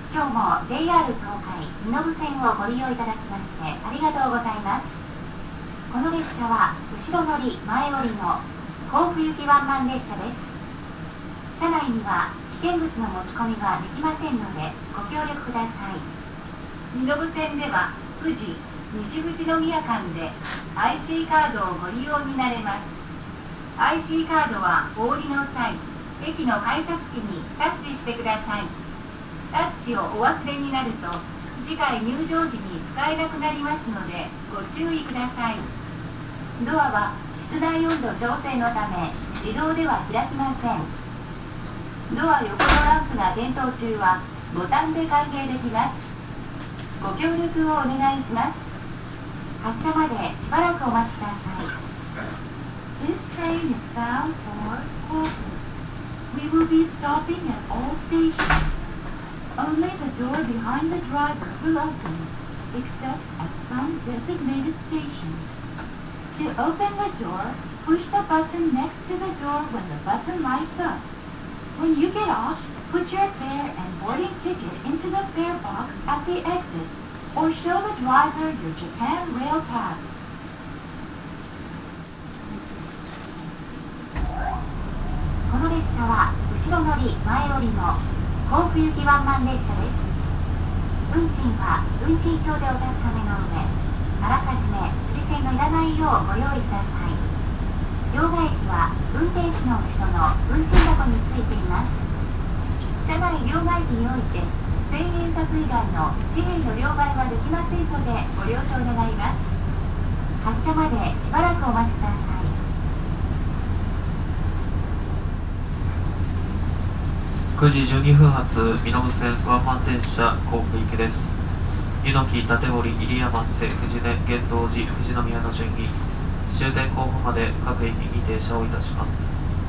今日も JR 東海身延線をご利用いただきましてありがとうございます。この列車は後ろ乗り前降りの甲府行きワンマン列車です。車内には危険物の持ち込みができませんのでご協力ください。身延線では富士西口宮間で IC カードをご利用になれます。 IC カードはお降りの際駅の改札機にタッチしてください。タッチをお忘れになると次回入場時に使えなくなりますのでご注意ください。ドアは室内温度調整のため自動では開きません。ドア横のランプが点灯中はボタンで開閉できます。ご協力をお願いします。発車までしばらくお待ちください。 This train is bound for Kofu. We will be stopping at all stations. Only the door behind the driver will open, except at some designated stations. To open the door, push the button next to the door when the button lights up. When you get off, put your fare and boarding ticket into the fare box at the exit, or show the driver your Japan Rail Pass. この列車は後ろ乗り前降りの甲府行きワンマン列車です。運賃は運賃表でお確かめの上、あらかじめ釣り銭のいらないようご用意ください。両替機は運転士の後ろの運賃箱についています。車内両替機において1000円札以外の紙幣の両替はできませんのでご了承願います。発車までしばらくお待ちください。 9時12分発身延線ワンマン電車甲府行きです。湯の木、立堀、入山瀬、藤根、源道寺、富士宮の順に終点甲府まで各駅に停車をいたします。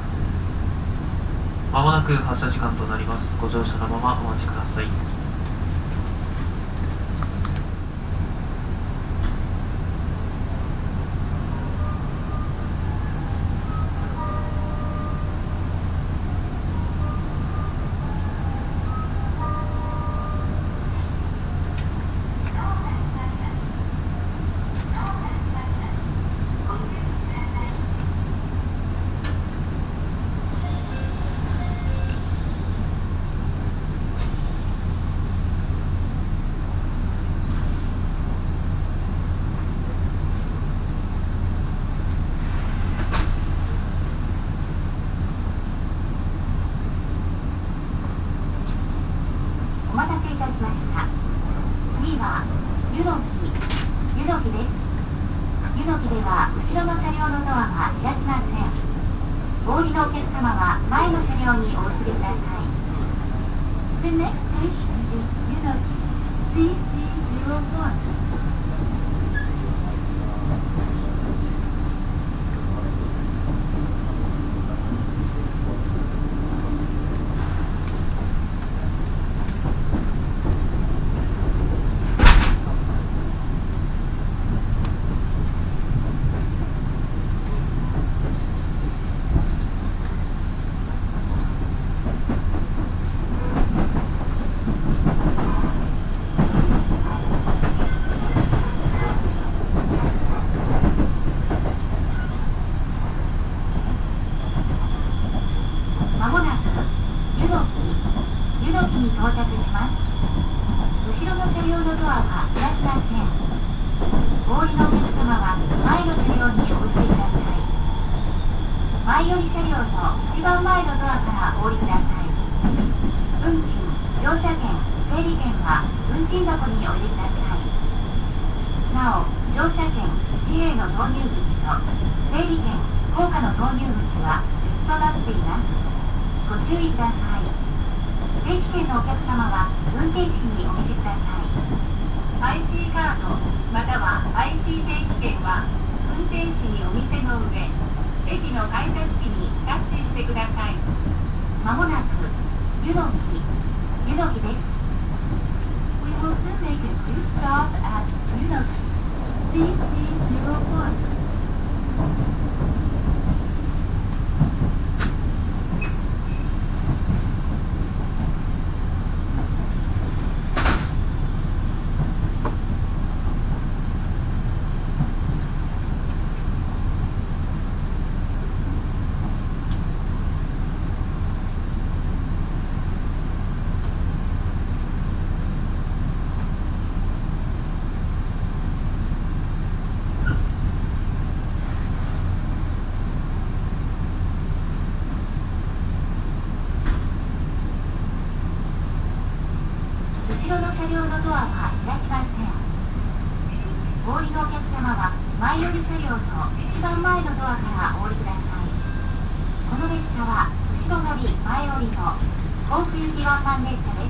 まもなく発車時間となります。ご乗車のままお待ちください。 お待たせいたしました。次は湯の木です。湯の木では後ろの車両のドアが開きません。お降りのお客様は前の車両にお移りください。 The next station is 湯の木 CC01. に到着します。後ろの車両のドアは開きません。お降りのお客様は前の車両にお移りください。前寄り車両の一番前のドアからお降りください。運賃、乗車券、整理券は運賃箱にお入れください。なお、乗車券、紙幣の投入口と整理券、硬貨の投入口は別となっています。ご注意ください。定期券のお客様は運転士にお見せください。IC カードまたは IC 定期券は運転士にお見せの上、駅の改札機にタッチしてください。まもなく湯の木です。We will soon make a quick stop at 湯の木 CC01. 車両のドアは開きません。お降りのお客様は前寄り車両の一番前のドアからお降りください。この列車は後ろ乗り前降りの甲府行きワンマン列車です。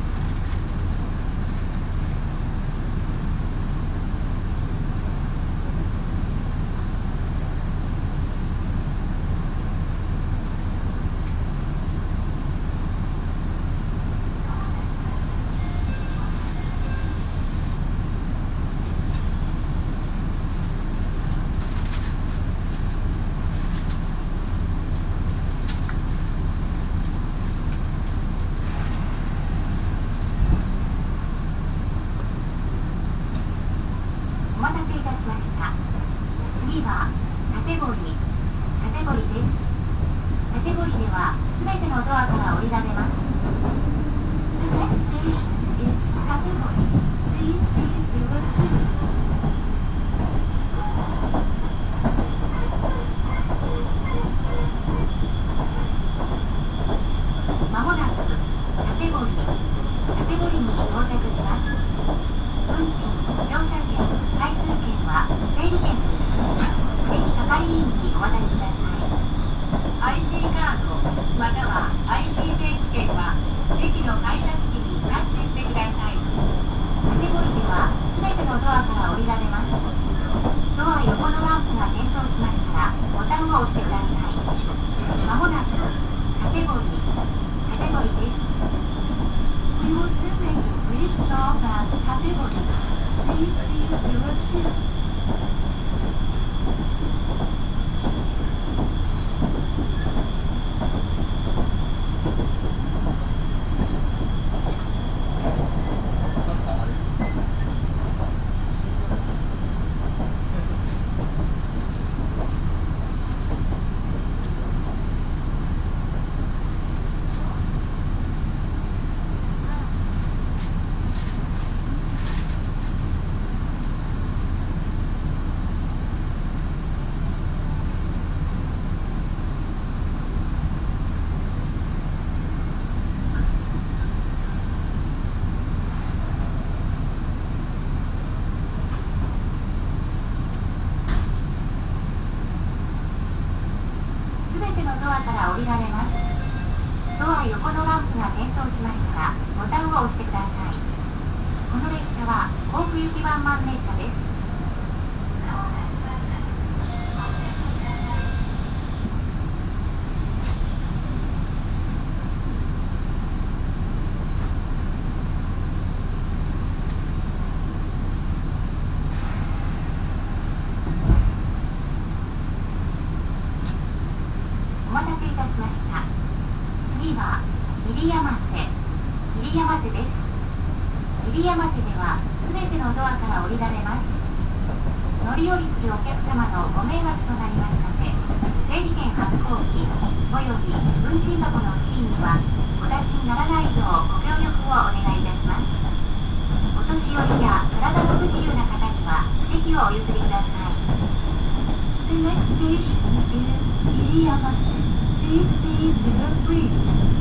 お待たせいたしました。次は館堀です。館堀ではすべてのドアから降りられます。The next station is 館堀。Please take your seat. まもなく館堀に到着します。運賃、乗車券、回数券は整理券です。ぜひ係員にお渡しください。IC カードまたは IC 定期券は駅の改札機にタッチしてください。館堀ではすべてのドアから降りられます。ドア横のランプが点灯しましたらボタンを押してください。まもなく館堀です。We will soon make a brief stop at Kategori. Please take your seat. すべてのドアから降りられます。ドア横のランプが点灯しましたらボタンを押してください。この列車は甲府行きワンマン列車です。お待たせいたしました。次は入山瀬です。入山瀬ではすべてのドアから降りられます。乗り降りするお客様のご迷惑となりますので、整理券発行機および運賃箱の付近にはお出しにならないようご協力をお願いいたします。お年寄りや体の不自由な方には席をお譲りください。The next station is 入山瀬。Please stay free.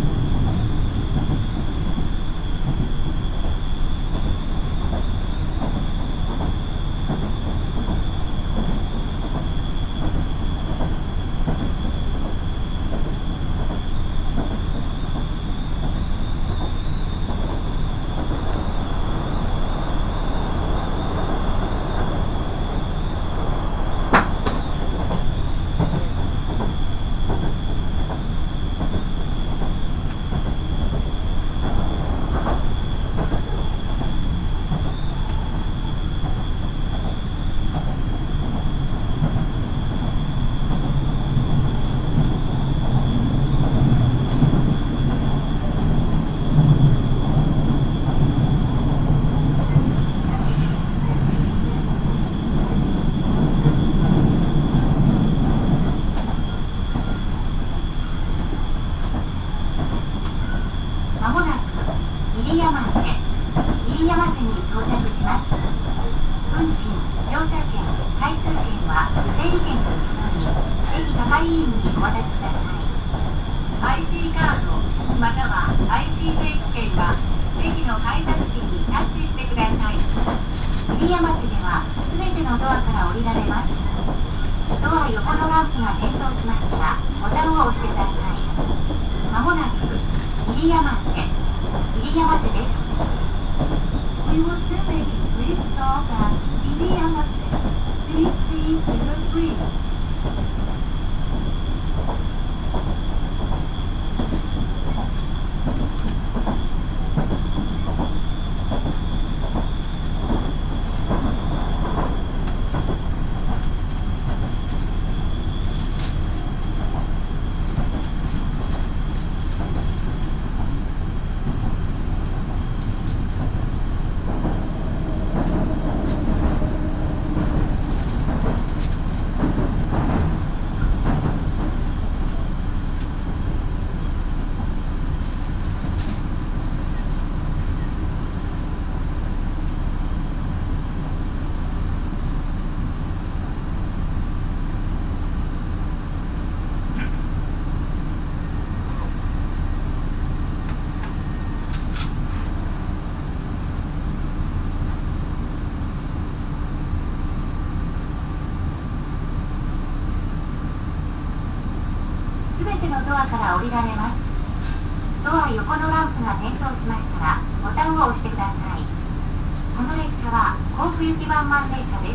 係員にお渡しください。IC カードまたは IC 定期券は駅の改札機にタッチしてください。 入谷町ではすべてのドアから降りられます。ドア横のランプが点灯しましたらボタンを押してください。まもなく入谷町です。We will soon make a brief stop at Iriyamate, CC03. すべてのドアから降りられます。ドア横のランプが点灯しましたらボタンを押してください。この列車は甲府行きワンマン列車です。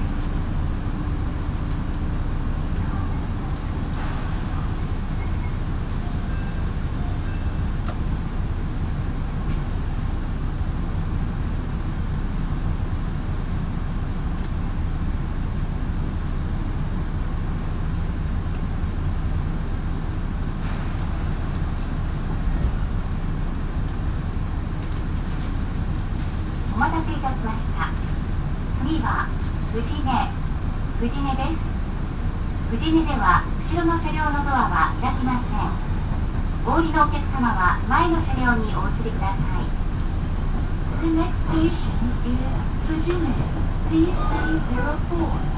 お待たせいたしました。次は富士根です。富士根では後ろの車両のドアは開きません。お降りのお客様は前の車両にお移りください。The next station is 富士根 CC04.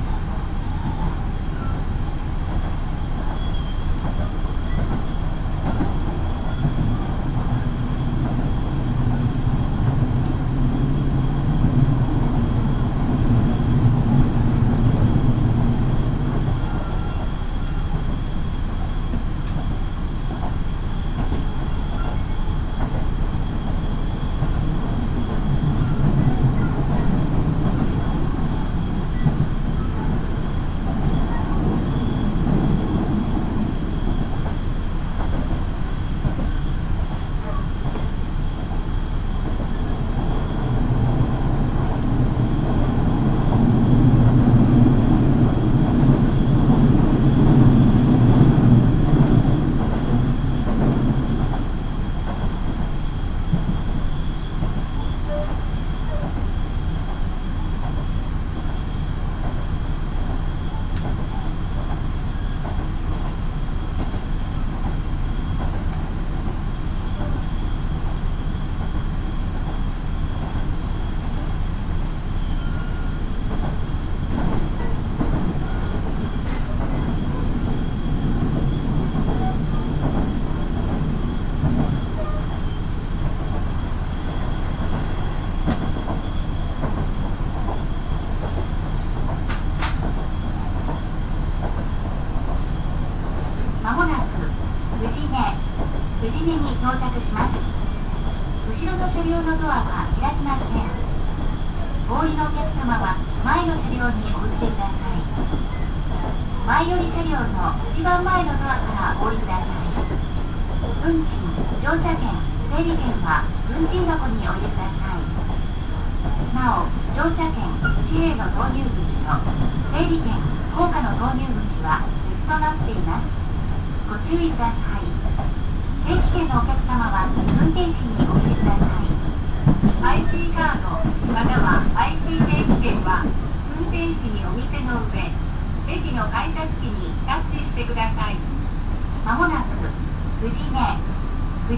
まもなく富士根に到着します。後ろの車両のドアは開きません。お降りのお客様は前の車両にお移りください。前寄り車両の一番前のドアからお降りください。運賃、乗車券、整理券は運賃箱にお入れください。なお、乗車券、紙幣の投入口と整理券、硬貨の投入口は別となっています。ご注意ください。定期券のお客様は運転士にお入れください。IC カードまたは IC 定期券は運転士にお見せの上、レジの改札機にタッチしてください。まもなく富士根です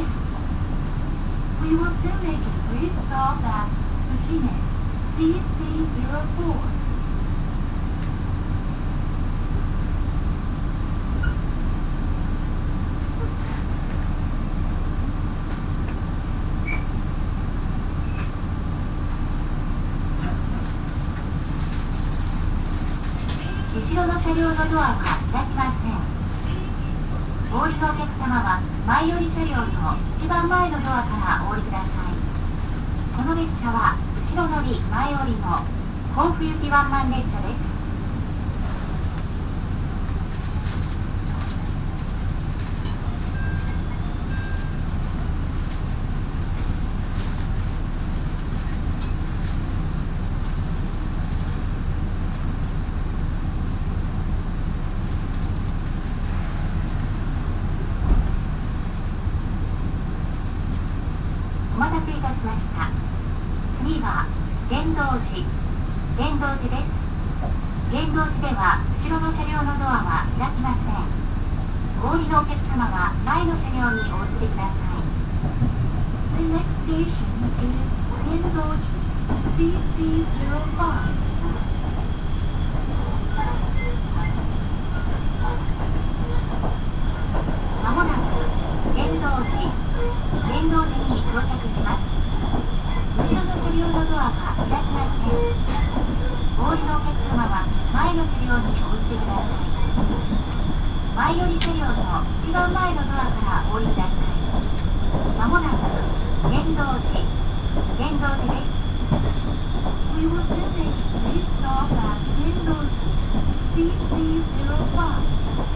。We will soon make a brief stop at 富士根 CC04. 富両のドアは開きません。お降りのお客様は前より車両の一番前のドアからお降りください。この列車は後ろ乗り前降りの甲府行きワンマン列車です。お待たせいたしました。次は玄道寺です。玄道寺では後ろの車両のドアは開きません。お降りのお客様は前の車両にお移りください。The next station is 玄道寺 CC05。まもなく玄道寺に到着します。後ろの車両のドアが開きません。お降りのお客様は前の車両にお移りください。前より車両の一番前のドアからお降りください。まもなく玄道寺です。We will soon make please stop at 玄道寺 CC05。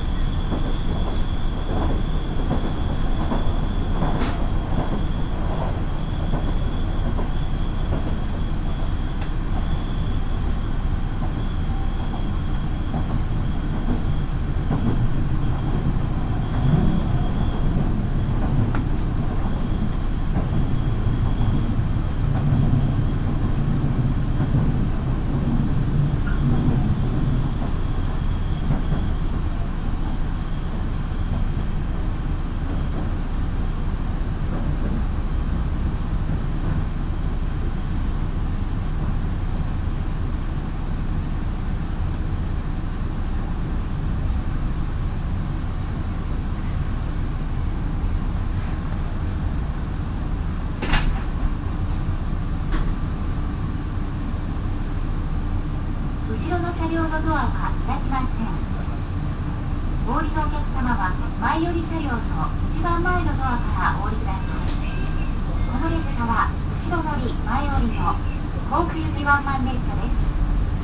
後ろの車両のドアは開きません。お降りのお客様は前より車両の一番前のドアからお降りください。この列車は後ろ乗り前降りの甲府行きワンマン列車です。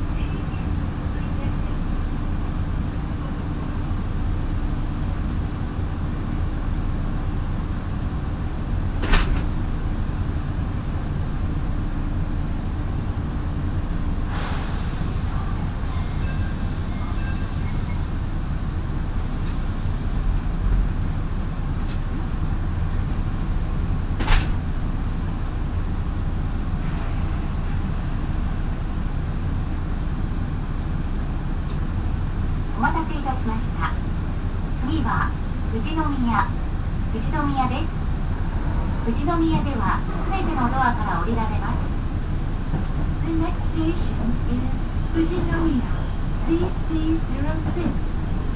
お待たせいたしました。次は富士宮です。富士宮では全てのドアから降りられます。The next station is 富士宮 CC06。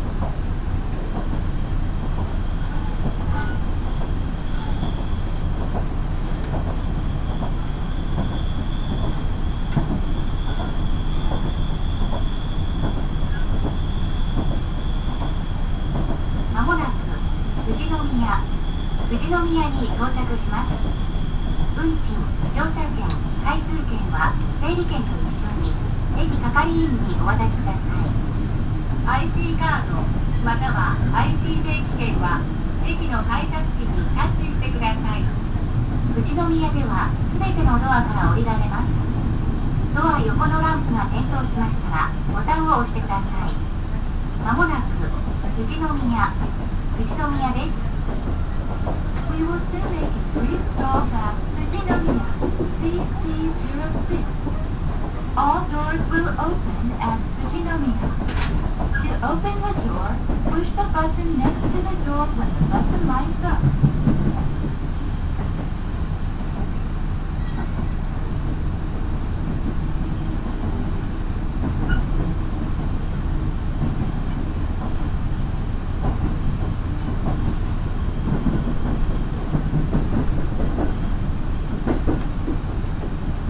まもなく富士宮に到着します。運賃、乗車券、回数券は整理券と一緒に駅係員にお渡しください。IC カードまたは IC 定期券は駅の改札機にタッチしてください。富士宮では全てのドアから降りられます。ドア横のランプが点灯しましたらボタンを押してください。まもなく富士宮です。We will soon make a brief stop at 富士宮 CC06. All doors will open at 富士宮. To open the door, push the button next to the door when the button lights up.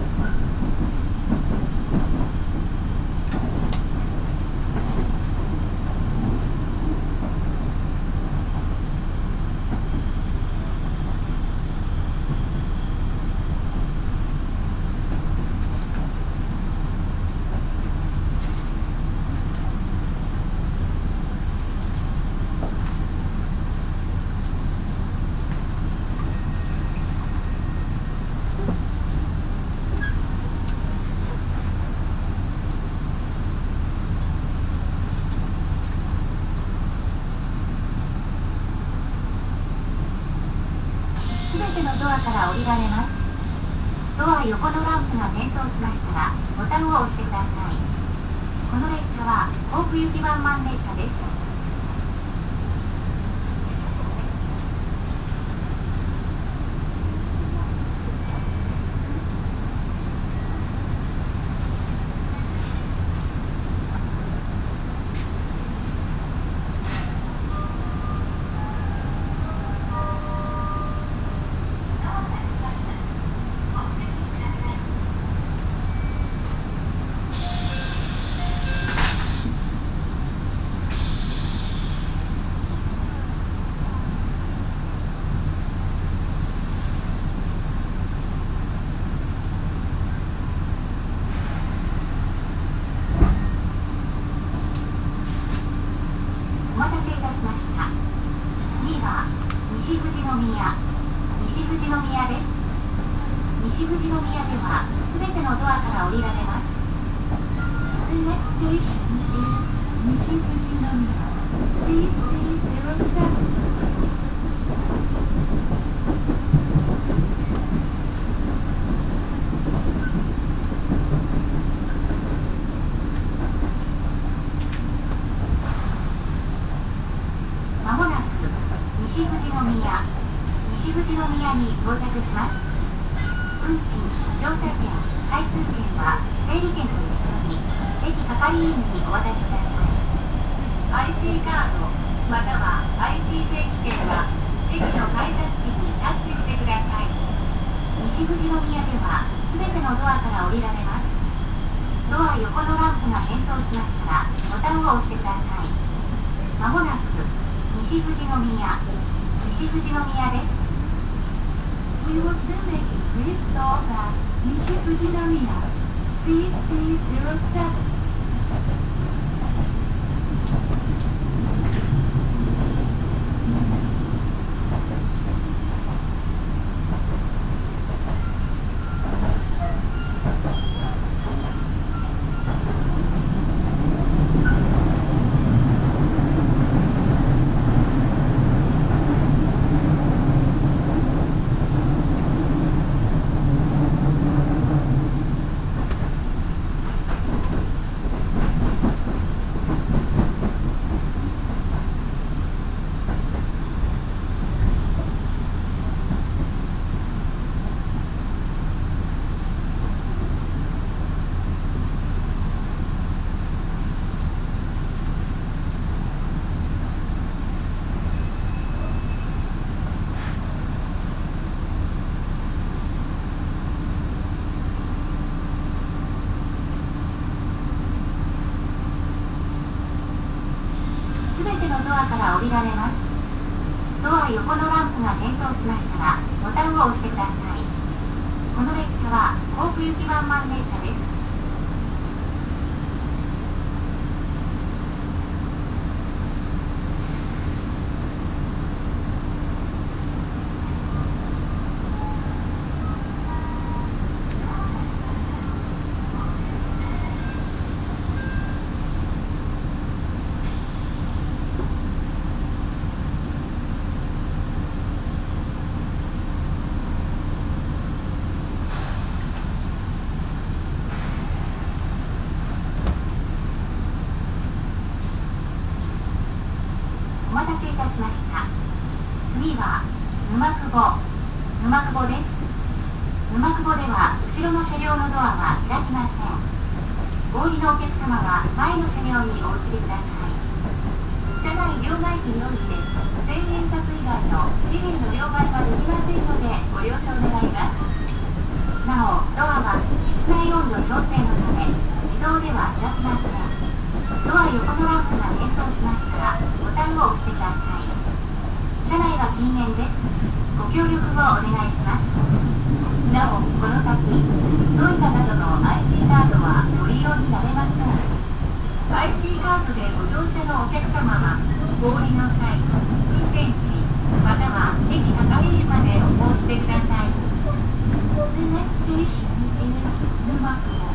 おドアから降りられます。ドア横のランプが点灯しましたら、ボタンを押してください。この列車は甲府行きワンマン列車です。お待たせいたしました。次は西富士宮です。西富士宮ではすべてのドアから降りられます。The next station is 西富士宮。Please stay 07. まもなく西富士宮に到着します。運賃、乗車券、回数券は整理券と一緒に駅係員にお渡しください。IC カードまたは IC 定期券は駅の改札機にタッチしてください。西富士宮ではすべてのドアから降りられます。ドア横のランプが点灯しましたらボタンを押してください。まもなく西富士宮です。We will soon make a brief stop at 西富士宮。Please stay 07. すべてのドアから降りられます。ドア横のランプが点灯しましたらボタンを押してください。この列車は甲府行きワンマン列車です。お待たせいたしました。次は沼久保です。沼久保では後ろの車両のドアは開きません。お降りのお客様は前の車両にお移りください。車内両替機のみです。1000円札以外の紙幣の両替はできませんのでご了承願います。なお、ドアは室内温度調整のため自動では開きません。ドア横のランプが点灯しましたらボタンを押してください。車内は禁煙です。ご協力をお願いします。なお、この先トイレなどの IC カードはご利用になれません。IC カードでご乗車のお客様はお降りの際、運転士または駅係員までお申し出ください。The next station is 沼久保。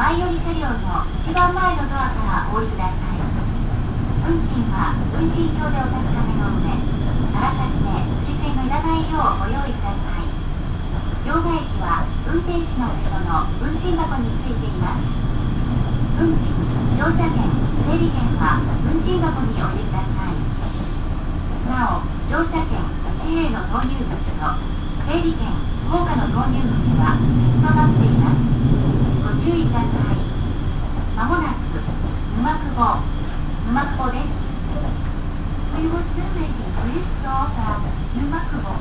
前より車両の一番前のドアからお降りください。運賃は運賃表でお確かめの上、あらかじめ付箋のいらないようご用意ください。両替機は運転士の後ろの運賃箱についています。運賃、乗車券、整理券は運賃箱にお入れください。なお、乗車券、紙幣の投入口と整理券、硬貨の投入口は別となっています。ご注意ください。まもなく沼久保です。We will soon make it. Please stop at 沼久保。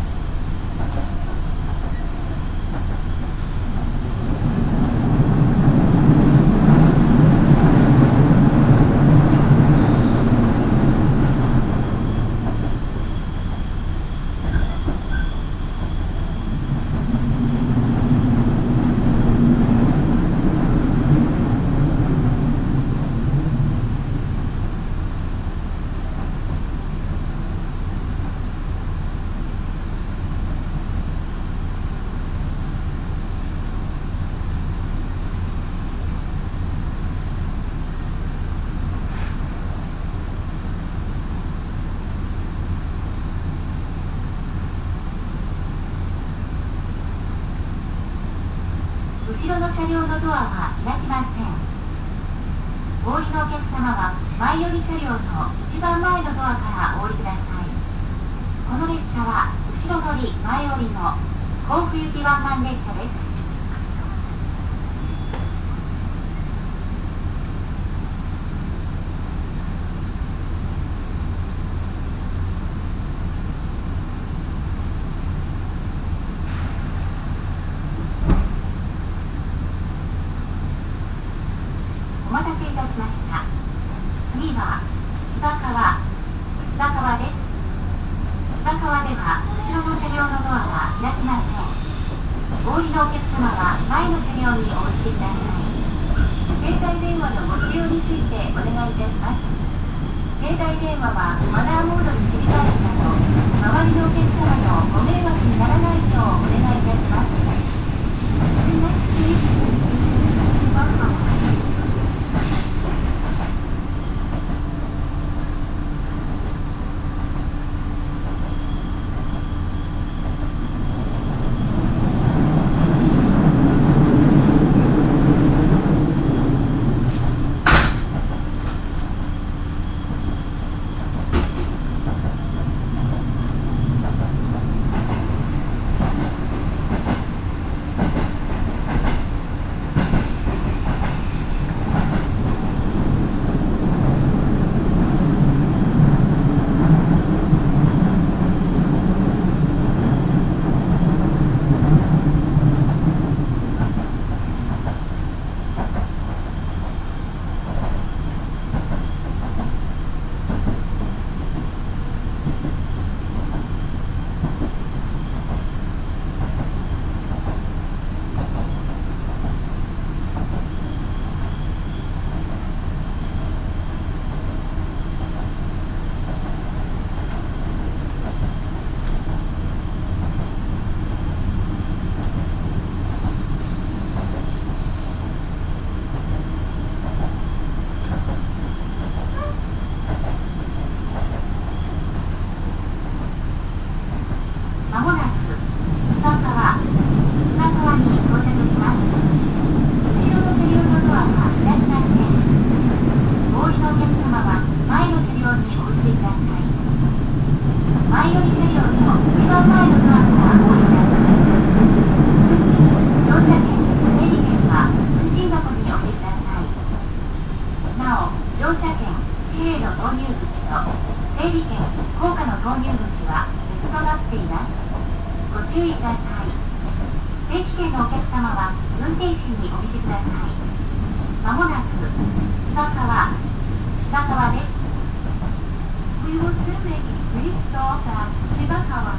後ろの車両のドアは開きません。お降りのお客様は前より車両の一番前のドアからお降りください。この列車は後ろ乗り前降りの甲府行きワンマン列車です。お待たせいたしました。次は芝川です。芝川では後ろの車両のドアは開きません。お降りのお客様は前の車両にお降りください。携帯電話のご使用についてお願いいたします。携帯電話はマナーモードに切り替えるなど、周りのお客様のご迷惑にならないようお願いいたします。まもなく芝川に到着します。後ろの車両のドアは開きません。お降りのお客様は前の車両にお降りください。前より車両の一番前のドアからお降りください。乗車券、整理券は運賃箱にお入れください。なお、乗車券、紙幣の投入口と整理券、硬貨の投入口は別となっています。ご注意ください。定期券のお客様は運転士にお見せください。まもなく芝川です。We will soon make it. Please stop at 芝川。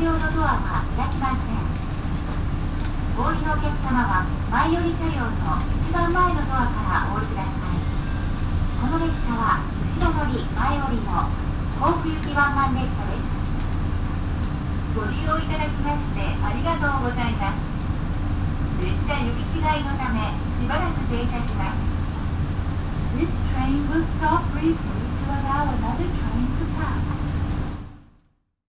両のドアは開きません。お降りのお客様は前より車両の一番前のドアからお降りください。この列車は後ろ乗り前降りの甲府行きワンマン列車です。ご利用いただきましてありがとうございます。列車行き違いのためしばらく停車します。This train will stop briefly to allow another train to pass.